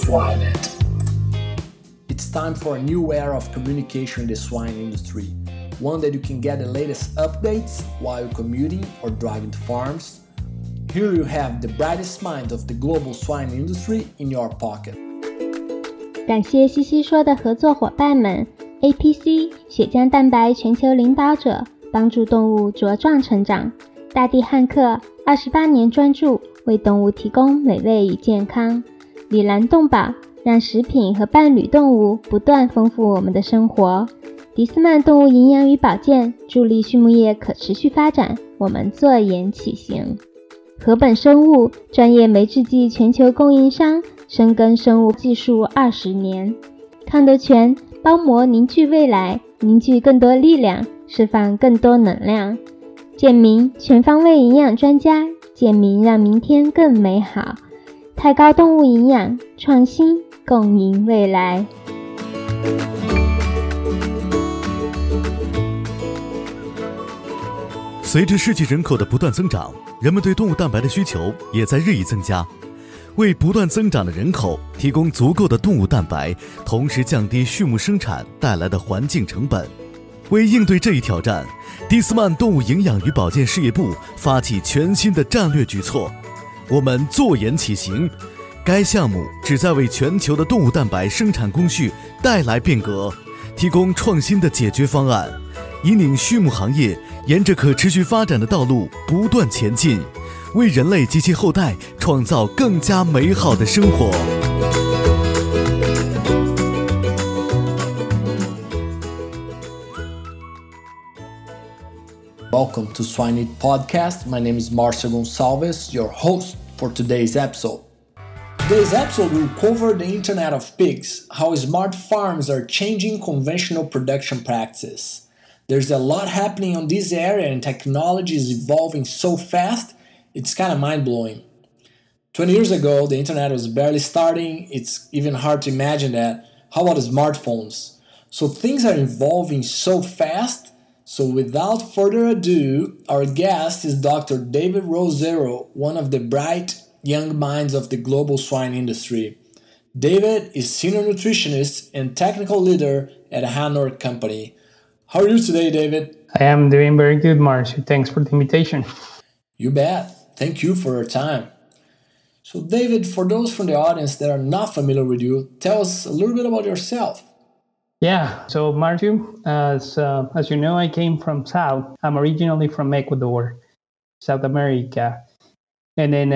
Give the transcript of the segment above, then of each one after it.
Swineit. It's time for a new era of communication in the swine industry, one that you can get the latest updates while commuting or driving to farms. Here you have the brightest minds of the global swine industry in your pocket. 感谢西西说的合作伙伴们 APC 血浆蛋白全球领导者，帮助动物茁壮成长。大地汉克28年专注为动物提供美味与健康。里兰动保让食品和伴侣动物不断丰富我们的生活。迪斯曼动物营养与保健助力畜牧业可持续发展，我们坐言起行。禾本生物专业酶制剂全球供应商，深耕生物技术20年。康德全包膜凝聚未来，凝聚更多力量，释放更多能量。健明全方位营养专家，健明让明天更美好。太高动物营养，创新共赢未来。 随着世界人口的不断增长，人们对动物蛋白的需求也在日益增加。为不断增长的人口提供足够的动物蛋白，同时降低畜牧生产带来的环境成本。为应对这一挑战，迪斯曼动物营养与保健事业部发起全新的战略举措，我们坐言起行。该项目旨在为全球的动物蛋白生产工序带来变革，提供创新的解决方案，引领畜牧行业沿着可持续发展的道路不断前进，为人类及其后代创造更加美好的生活。 Welcome to Swineit Podcast. My name is Marcio Gonçalves, your host for today's episode. Today's episode will cover the Internet of Pigs, how smart farms are changing conventional production practices. There's a lot happening on this area and technology is evolving so fast, it's kind of mind-blowing. 20 years ago, the internet was barely starting. It's even hard to imagine that. How about smartphones? So things are evolving so fast. So without further ado, our guest is Dr. David Rosero, one of the bright young minds of the global swine industry. David is senior nutritionist and technical leader at Hanor Company. How are you today, David? I am doing very good, Marcio. Thanks for the invitation. You bet. Thank you for your time. So, David, for those from the audience that are not familiar with you, tell us a little bit about yourself. Yeah. So, Marcio, as you know, I came from South. I'm originally from Ecuador, South America. And then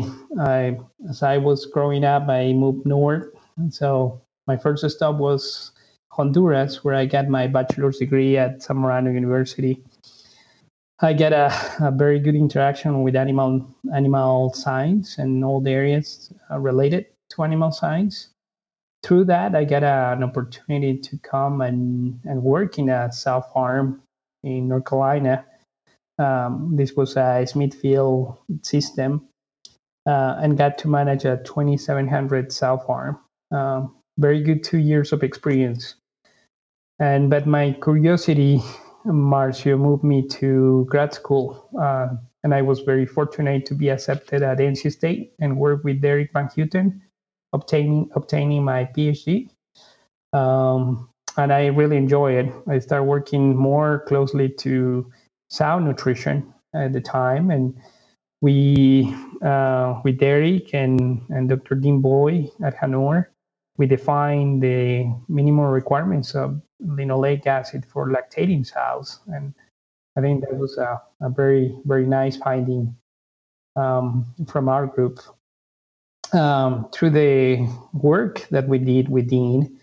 as I was growing up, I moved north. And so my first stop was Honduras, where I got my bachelor's degree at Zamorano University. I get a very good interaction with animal science and all the areas related to animal science. Through that, I got an opportunity to come and work in a sow farm in North Carolina. This was a Smithfield system and got to manage a 2,700 sow farm. Very good 2 years of experience. But my curiosity, Marcio, moved me to grad school. And I was very fortunate to be accepted at NC State and work with Derek Van Houten, obtaining my PhD. And I really enjoy it. I started working more closely to sow nutrition at the time. And we, with Derek and Dr. Dean Boy at Hanor, we defined the minimum requirements of linoleic acid for lactating sows. And I think that was a very, very nice finding from our group. Through the work that we did with Dean,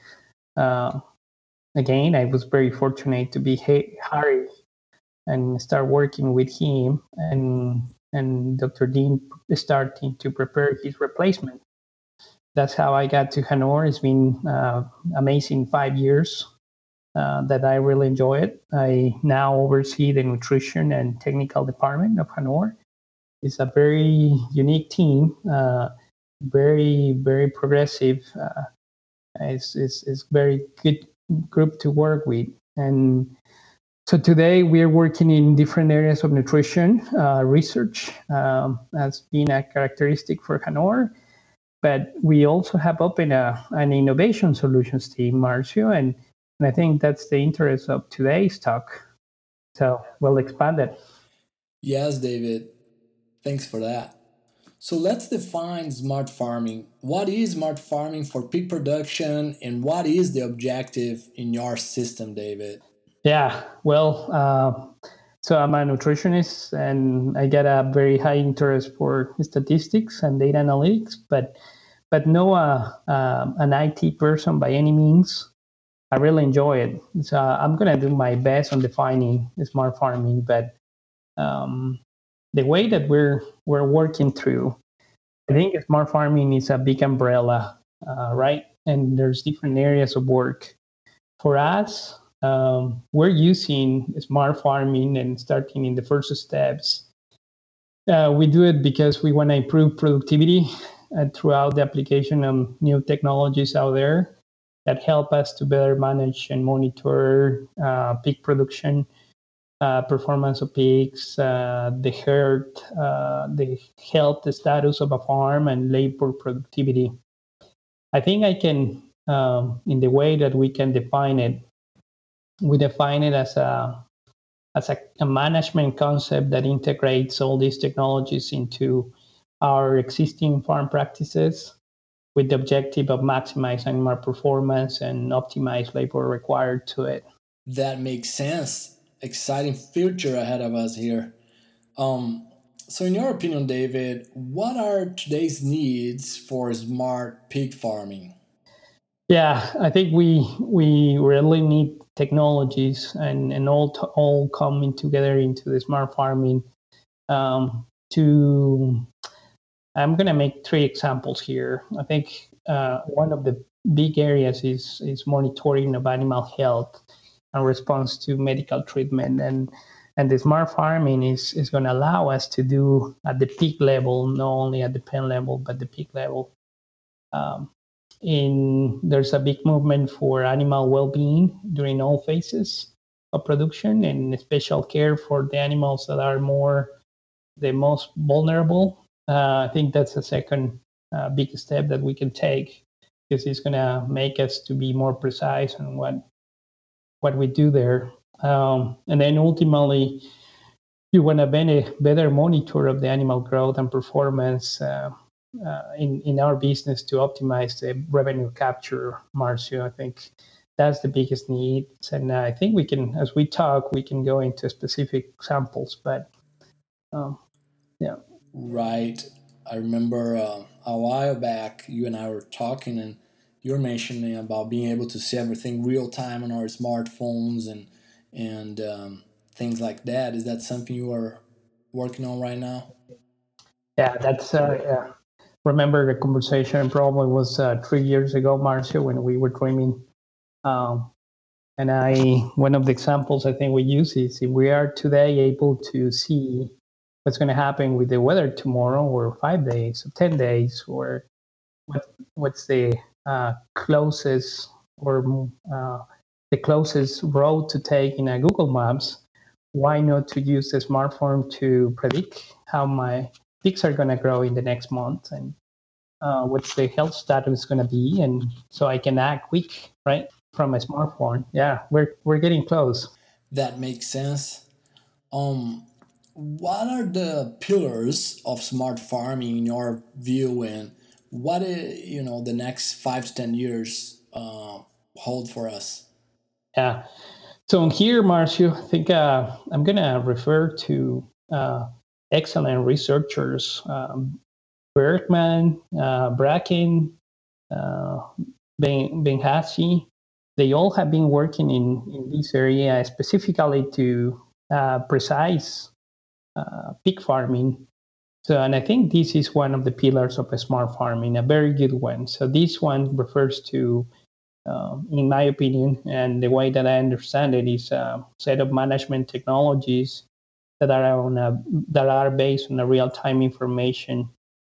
again, I was very fortunate to be hired and start working with him and Dr. Dean starting to prepare his replacement. That's how I got to Hanor. It's been amazing 5 years that I really enjoy it. I now oversee the nutrition and technical department of Hanor. It's a very unique team, very, very progressive. It's very good group to work with. And so today we're working in different areas of nutrition. Research has been a characteristic for Hanor. but we also have opened an innovation solutions team, Marcio, and I think that's the interest of today's talk. So we'll expand it. Yes, David. Thanks for that. So let's define smart farming. What is smart farming for pig production, and what is the objective in your system, David? Yeah, well, so I'm a nutritionist and I get a very high interest for statistics and data analytics, but no an IT person by any means. I really enjoy it. So I'm gonna do my best on defining smart farming, but the way that we're working through, I think smart farming is a big umbrella, right? And there's different areas of work. For us, we're using smart farming and starting in the first steps. We do it because we want to improve productivity throughout the application of new technologies out there that help us to better manage and monitor pig production, performance of pigs, the herd, the health status of a farm, and labor productivity. I think I can, in the way that we can define it, we define it as a management concept that integrates all these technologies into our existing farm practices with the objective of maximizing our performance and optimize labor required to it. That makes sense. Exciting future ahead of us here. Um, so, in your opinion, David, what are today's needs for smart pig farming? Yeah, I think we really need technologies and all coming together into the smart farming. To I'm going to make three examples here. I think one of the big areas is monitoring of animal health and response to medical treatment, and the smart farming is going to allow us to do at the peak level, not only at the pen level but the peak level. Um, there's a big movement for animal well-being during all phases of production and special care for the animals that are the most vulnerable. I think that's a second big step that we can take because it's going to make us to be more precise on what we do there. And then ultimately, you want to better monitor of the animal growth and performance in our business to optimize the revenue capture, Marcio. I think that's the biggest need. And I think we can, as we talk, we can go into specific examples, but yeah. Right. I remember a while back you and I were talking, and you were mentioning about being able to see everything real time on our smartphones and things like that. Is that something you are working on right now? Yeah, that's yeah. Remember the conversation probably was 3 years ago, Marcio, when we were dreaming. Um, and one of the examples I think we use is if we are today able to see what's going to happen with the weather tomorrow, or 5 days, or 10 days, or what's the closest or the closest road to take in a Google Maps. Why not to use the smartphone to predict how my pigs are going to grow in the next month and what's the health status going to be, and so I can act quick, right, from a smartphone. Yeah, we're getting close. That makes sense. Um, what are the pillars of smart farming in your view, and what the next 5 to 10 years hold for us? Yeah. So here, Marcio, I think I'm going to refer to excellent researchers, Bergman, Bracken, uh, Benhassi. They all have been working in this area specifically to precise pig farming. So, and I think this is one of the pillars of a smart farming, a very good one. So this one refers to, in my opinion, and the way that I understand it, is a set of management technologies that are based on a real-time information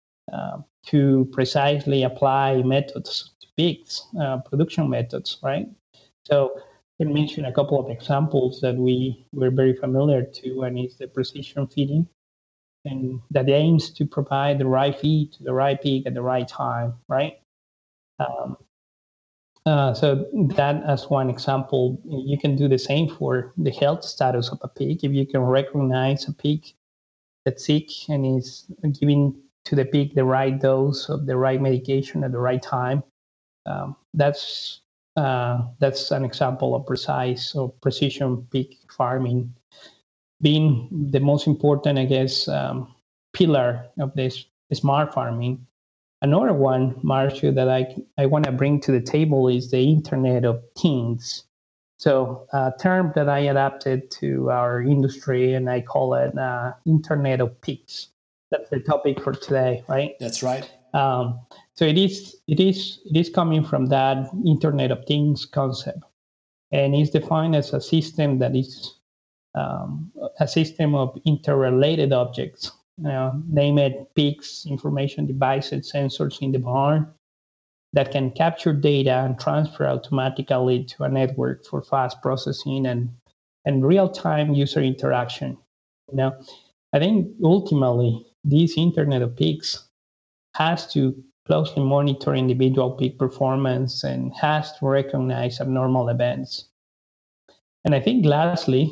to precisely apply methods to pigs, production methods, right? So I can mention a couple of examples that we're very familiar to, and it's the precision feeding. and that aims to provide the right feed to the right pig at the right time, right? Um, so that as one example, you can do the same for the health status of a pig. If you can recognize a pig that's sick and is giving to the pig the right dose of the right medication at the right time, that's an example of precise or precision pig farming being the most important, I guess, pillar of this smart farming. Another one, Marcio, that I want to bring to the table is the Internet of Things. So a term that I adapted to our industry, and I call it Internet of Pigs. That's the topic for today, right? That's right. So it is coming from that Internet of Things concept, and it's defined as a system that is a system of interrelated objects. Name it pigs, information devices, sensors in the barn that can capture data and transfer automatically to a network for fast processing and real-time user interaction. I think ultimately this Internet of Pigs has to closely monitor individual pig performance and has to recognize abnormal events. And I think lastly,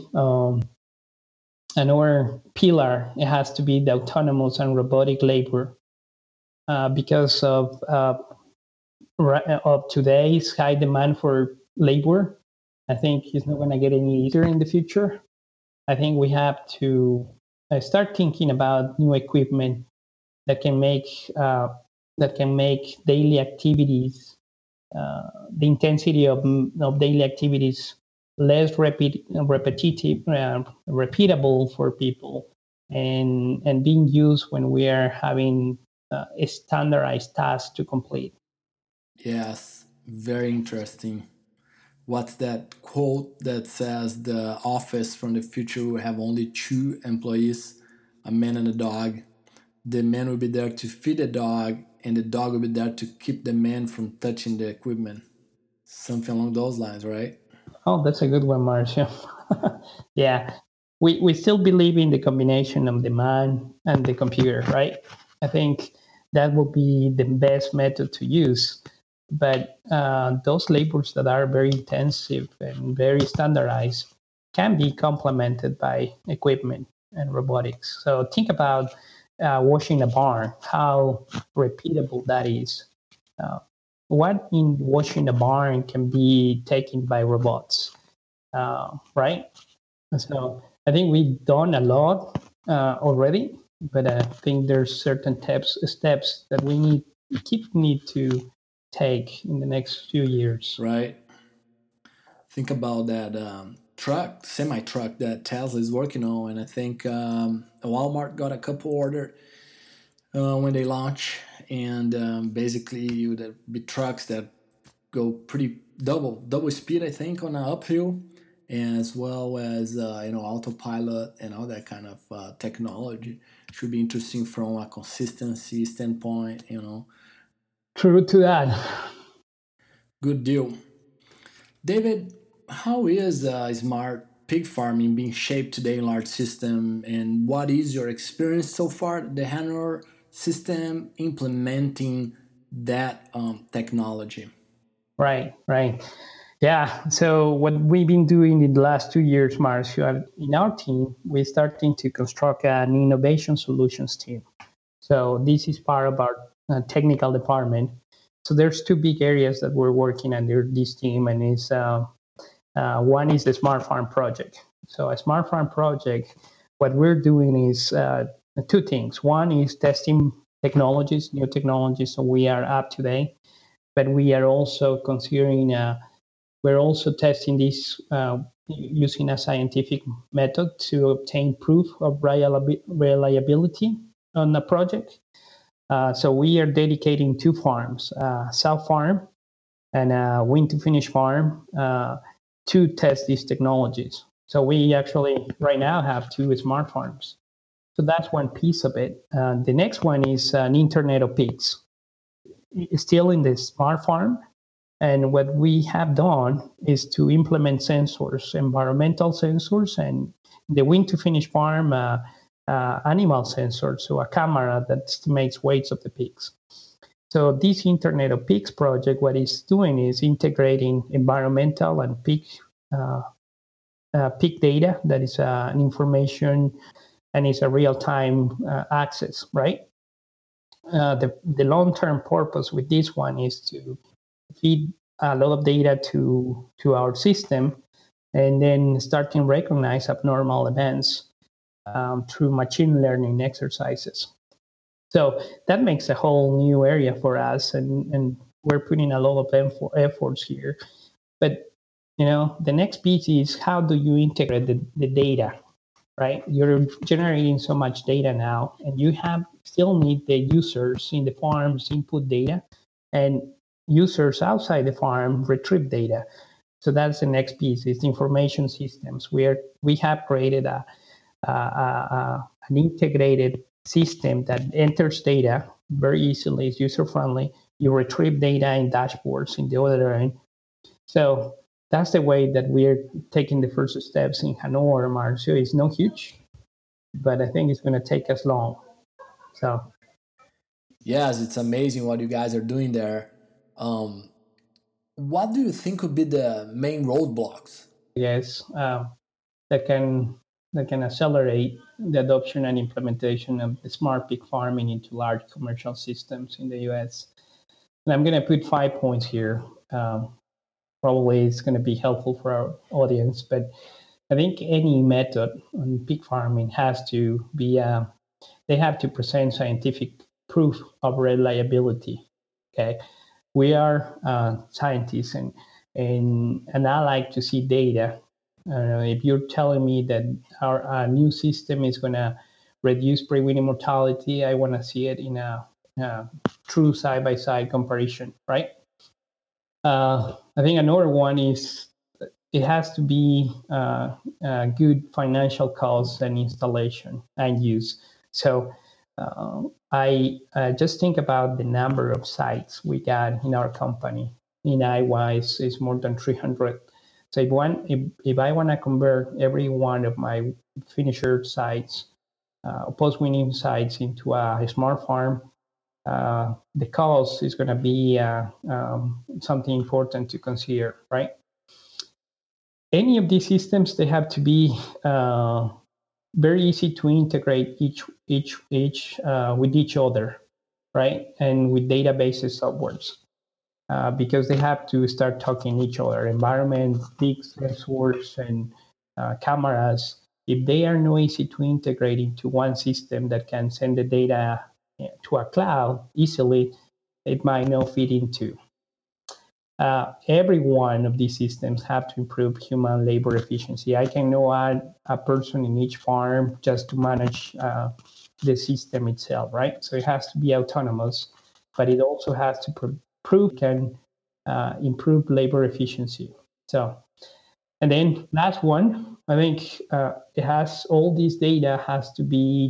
another pillar, it has to be the autonomous and robotic labor because of today's high demand for labor. I think it's not going to get any easier in the future. I think we have to start thinking about new equipment that can make daily activities, the intensity of daily activities less repetitive, repeatable for people, and being used when we are having a standardized task to complete. Yes, very interesting. What's that quote that says the office from the future will have only 2 employees, a man and a dog? The man will be there to feed the dog, and the dog will be there to keep the man from touching the equipment. Something along those lines, right? Oh, that's a good one, Marcia. Yeah, we still believe in the combination of the man and the computer, right? I think that will be the best method to use. But those labors that are very intensive and very standardized can be complemented by equipment and robotics. So think about washing a barn, how repeatable that is. What in washing a barn can be taken by robots, right? So I think we've done a lot already, but I think there's certain steps that we need to take in the next few years. Right. Think about that semi truck that Tesla is working on, and I think Walmart got a couple ordered when they launch, and basically would be trucks that go pretty double speed, I think, on an uphill, as well as autopilot and all that kind of technology. Should be interesting from a consistency standpoint. True to that. Good deal. David, how is smart pig farming being shaped today in large system, and what is your experience so far? The Hanor system implementing that technology. Right. Yeah. So what we've been doing in the last 2 years, Marcio, in our team, we're starting to construct an innovation solutions team. So this is part of our technical department. So there's 2 big areas that we're working under this team, and is one is the Smart Farm project. So a Smart Farm project, what we're doing is 2 things. One is testing technologies, new technologies, so we are up to date. But we are also considering, we're also testing this using a scientific method to obtain proof of reliability on the project. So we are dedicating 2 farms, South Farm and Win to Finish Farm, to test these technologies. So we actually right now have 2 smart farms. So that's one piece of it. The next one is an Internet of Pigs. It's still in the smart farm. And what we have done is to implement sensors, environmental sensors, and the Win to Finish Farm, animal sensors, so a camera that estimates weights of the pigs. So this Internet of Pigs project, what it's doing is integrating environmental and pig data that is an information and is a real-time access, right? The long-term purpose with this one is to feed a lot of data to our system and then start to recognize abnormal events through machine learning exercises. So that makes a whole new area for us, and we're putting a lot of efforts here. But the next piece is how do you integrate the data, right? You're generating so much data now, and you still need the users in the farms input data, and users outside the farm retrieve data. So that's the next piece, is information systems. We have created an integrated system that enters data very easily, is user-friendly. You retrieve data in dashboards in the other end. So that's the way that we're taking the first steps in Hanover, Marcio. It's not huge, but I think it's going to take us long. So yes, it's amazing what you guys are doing there. What do you think would be the main roadblocks? Yes, that can accelerate the adoption and implementation of the smart pig farming into large commercial systems in the U.S. And I'm going to put 5 points here. Probably it's going to be helpful for our audience, but I think any method on pig farming has to be, they have to present scientific proof of reliability. Okay, we are scientists, and I like to see data. If you're telling me that our new system is going to reduce pre-weaning mortality, I want to see it in a true side-by-side comparison, right? I think another one is it has to be good financial costs and installation and use. So I just think about the number of sites we got in our company. In Iowa, it's more than 300. So if I want to convert every one of my finisher sites, post-weaning sites into a smart farm, the cost is going to be something important to consider, right? Any of these systems, they have to be very easy to integrate each with each other, right? And with databases upwards, because they have to start talking each other. Environment, pigs, sensors, and cameras. If they are not easy to integrate into one system that can send the data to a cloud easily, it might not fit into. Every one of these systems have to improve human labor efficiency. I cannot add a person in each farm just to manage the system itself, right? So it has to be autonomous, but it also has to prove it can improve labor efficiency. So, and then last one, I think it has all this data has to be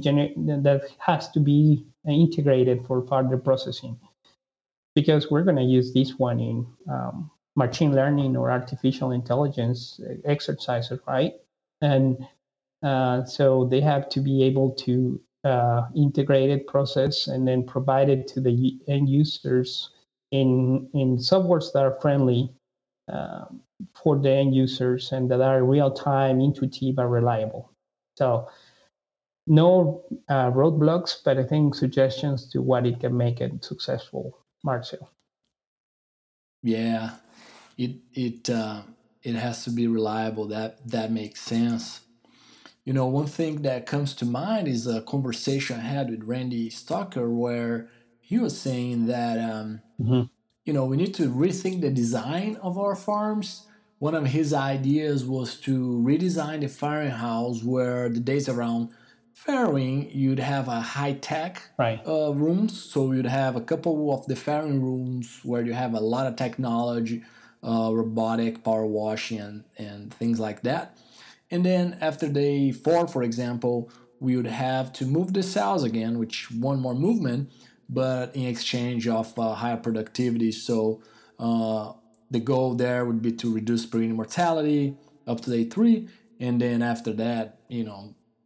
integrated for further processing, because we're going to use this one in machine learning or artificial intelligence exercises, right? And so they have to be able to integrate it, process, and then provide it to the end users in softwares that are friendly for the end users and that are real-time, intuitive, and reliable. So no roadblocks, but I think suggestions to what it can make it successful, Marcel. Yeah, it has to be reliable. That makes sense. One thing that comes to mind is a conversation I had with Randy Stocker where he was saying that we need to rethink the design of our farms. One of his ideas was to redesign the farrowing house where the days around farrowing, you'd have a high-tech rooms. So you'd have a couple of the farrowing rooms where you have a lot of technology, robotic power washing and things like that. And then after day 4, for example, we would have to move the cells again, which one more movement, but in exchange of higher productivity. So the goal there would be to reduce pre mortality up to day 3, and then after that,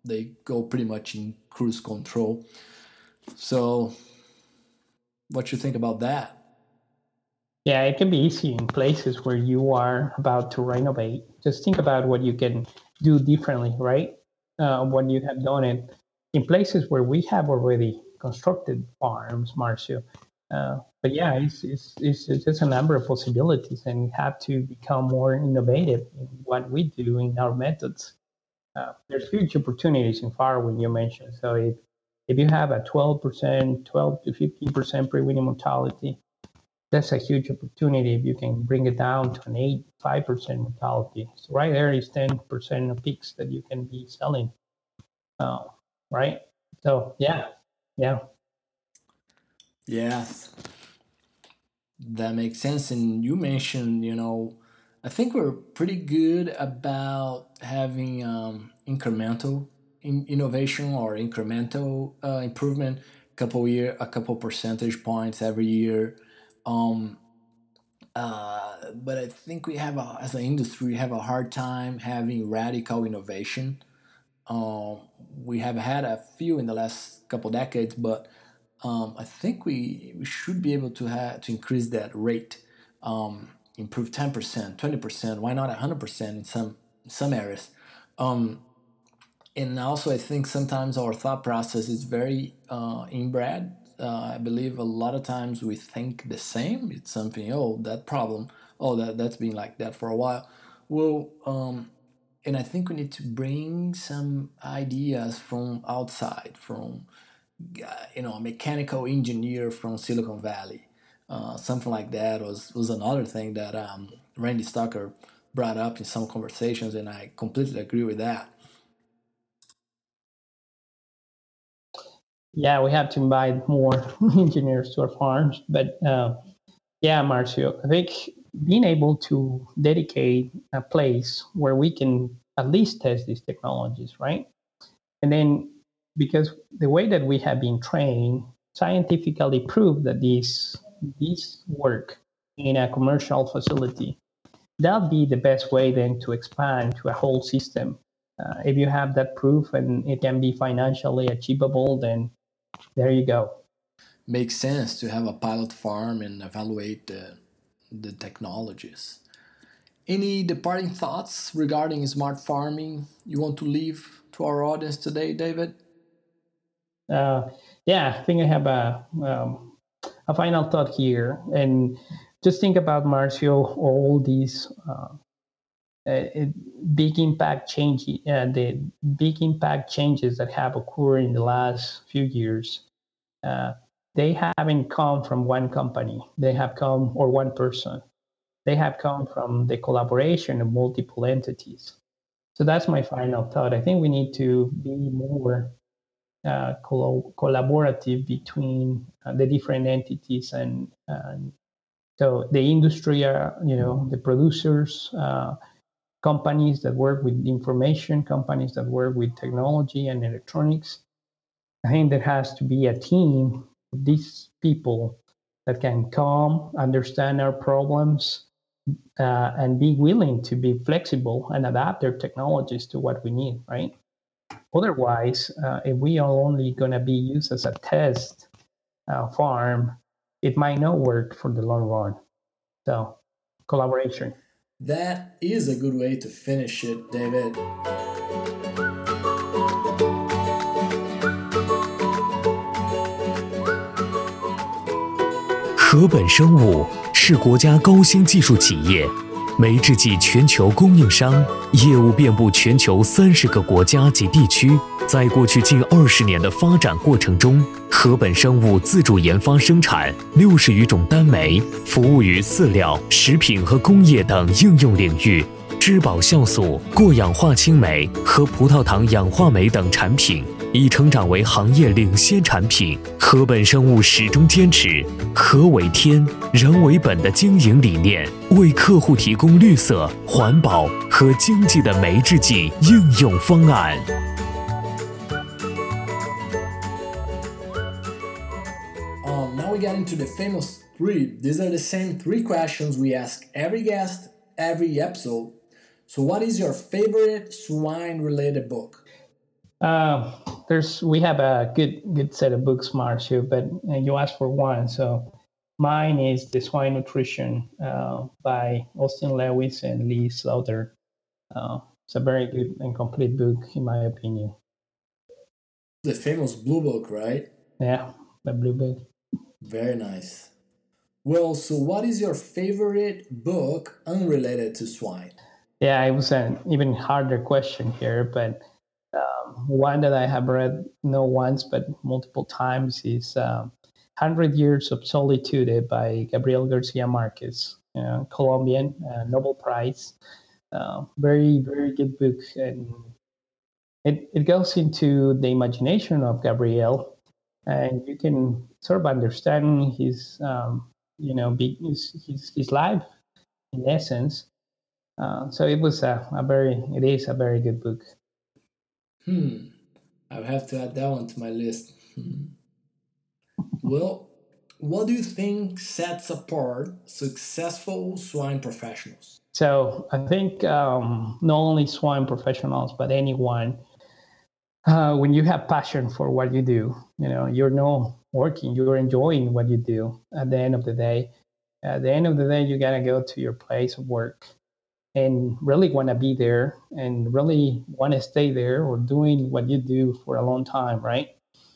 they go pretty much in cruise control. So what you think about that? Yeah, it can be easy in places where you are about to renovate. Just think about what you can do differently, right? What you have done it in places where we have already constructed farms, Marcio. But yeah, it's just a number of possibilities, and we have to become more innovative in what we do in our methods. There's huge opportunities in farming you mentioned. So if you have a 12%, 12 to 15% pre-weaning mortality, that's a huge opportunity if you can bring it down to an 5% mortality. So right there is 10% of pigs that you can be selling, right? So yeah. Yes, that makes sense. And you mentioned, I think we're pretty good about having incremental innovation or incremental improvement, a couple percentage points every year. But I think as an industry, we have a hard time having radical innovation. We have had a few in the last couple decades, but I think we should be able to increase that rate, improve 10%, 20%, why not 100% in some areas. And also, I think sometimes our thought process is very inbred. I believe a lot of times we think the same. It's something, that problem, that's been like that for a while. Well, and I think we need to bring some ideas from outside, from a mechanical engineer from Silicon Valley. Something like that was another thing that Randy Stocker brought up in some conversations, and I completely agree with that. Yeah, we have to invite more engineers to our farms. But yeah, Marcio, I think being able to dedicate a place where we can at least test these technologies, right? And then because the way that we have been trained scientifically proved that these work in a commercial facility, that'll be the best way then to expand to a whole system. If you have that proof and it can be financially achievable, then there you go. Makes sense to have a pilot farm and evaluate the technologies. Any departing thoughts regarding smart farming you want to leave to our audience today, David? Yeah, I think I have a final thought here, and just think about, Marcio, all these big impact the big impact changes that have occurred in the last few years. They haven't come from one company. They have come, or one person. They have come from the collaboration of multiple entities. So that's my final thought. I think we need to be more collaborative between the different entities, and so the industry, the producers, companies that work with information, companies that work with technology and electronics. I think there has to be a team of these people that can come, understand our problems, and be willing to be flexible and adapt their technologies to what we need, right? Otherwise, if we are only going to be used as a test farm, it might not work for the long run. So, collaboration. That is a good way to finish it, David. 禾本生物是国家高新技术企业，酶制剂全球供应商，业务遍布全球30个国家及地区。在过去近20年的发展过程中，禾本生物自主研发生产60余种单酶，服务于饲料、食品和工业等应用领域。质保酵素、过氧化氢酶和葡萄糖氧化酶等产品已成长为行业领先产品。禾本生物始终坚持禾为天、人为本的经营理念，为客户提供绿色、环保和经济的酶制剂应用方案。 Now we get into the famous 3. These are the same 3 questions we ask every guest, every episode. So what is your favorite swine-related book? We have a good set of books, Marcio, but you asked for one, so mine is The Swine Nutrition by Austin Lewis and Lee Slaughter. It's a very good and complete book, in my opinion. The famous Blue Book, right? Yeah, the Blue Book. Very nice. Well, so what is your favorite book unrelated to swine? Yeah, it was an even harder question here, but one that I have read not once but multiple times is 100 Years of Solitude by Gabriel Garcia Marquez, Colombian, Nobel Prize. Very, very good book. And it goes into the imagination of Gabriel, and you can sort of understand his, his life in essence. So it is a very good book. I'll have to add that one to my list. Well, what do you think sets apart successful swine professionals? So I think not only swine professionals, but anyone, when you have passion for what you do, you're not working, you're enjoying what you do at the end of the day. At the end of the day, you got to go to your place of work and really want to be there and really want to stay there or doing what you do for a long time, right?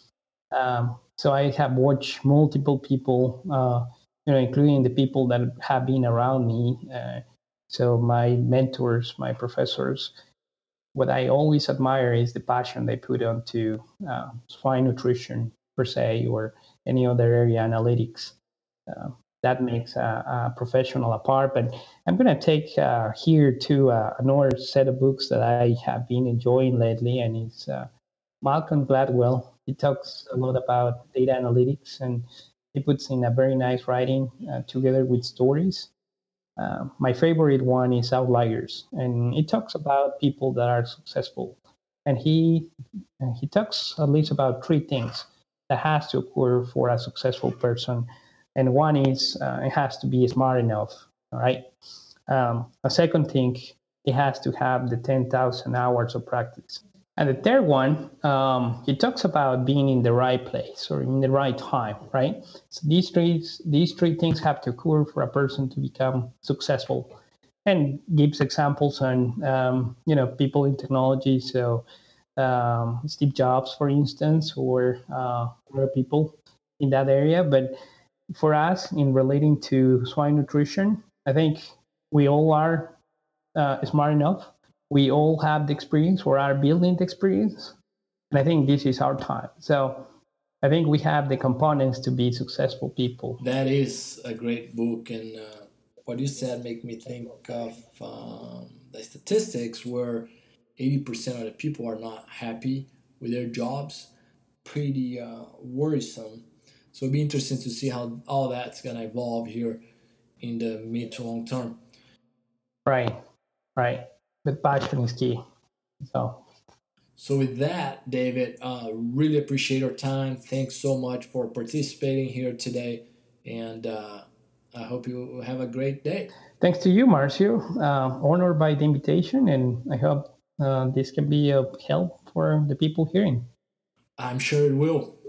So I have watched multiple people, including the people that have been around me. So my mentors, my professors, what I always admire is the passion they put onto swine nutrition per se, or any other area analytics. That makes a professional apart. But I'm going to take here to another set of books that I have been enjoying lately, and it's Malcolm Gladwell. He talks a lot about data analytics, and he puts in a very nice writing together with stories. My favorite one is Outliers, and it talks about people that are successful. And he talks at least about three things that has to occur for a successful person. And one is it has to be smart enough, all right? A second thing, it has to have the 10,000 hours of practice. And the third one, he talks about being in the right place or in the right time, right? So these three things have to occur for a person to become successful, and gives examples on people in technology. So Steve Jobs, for instance, or other people in that area. But for us, in relating to swine nutrition, I think we all are smart enough. We all have the experience or are building the experience. And I think this is our time. So I think we have the components to be successful people. That is a great book. And what you said make me think of the statistics where 80% of the people are not happy with their jobs. Pretty worrisome. So it'll be interesting to see how all that's going to evolve here in the mid to long term. Right. But passion is key. So with that, David, really appreciate your time. Thanks so much for participating here today. And I hope you have a great day. Thanks to you, Marcio. Honored by the invitation, and I hope this can be of help for the people hearing. I'm sure it will.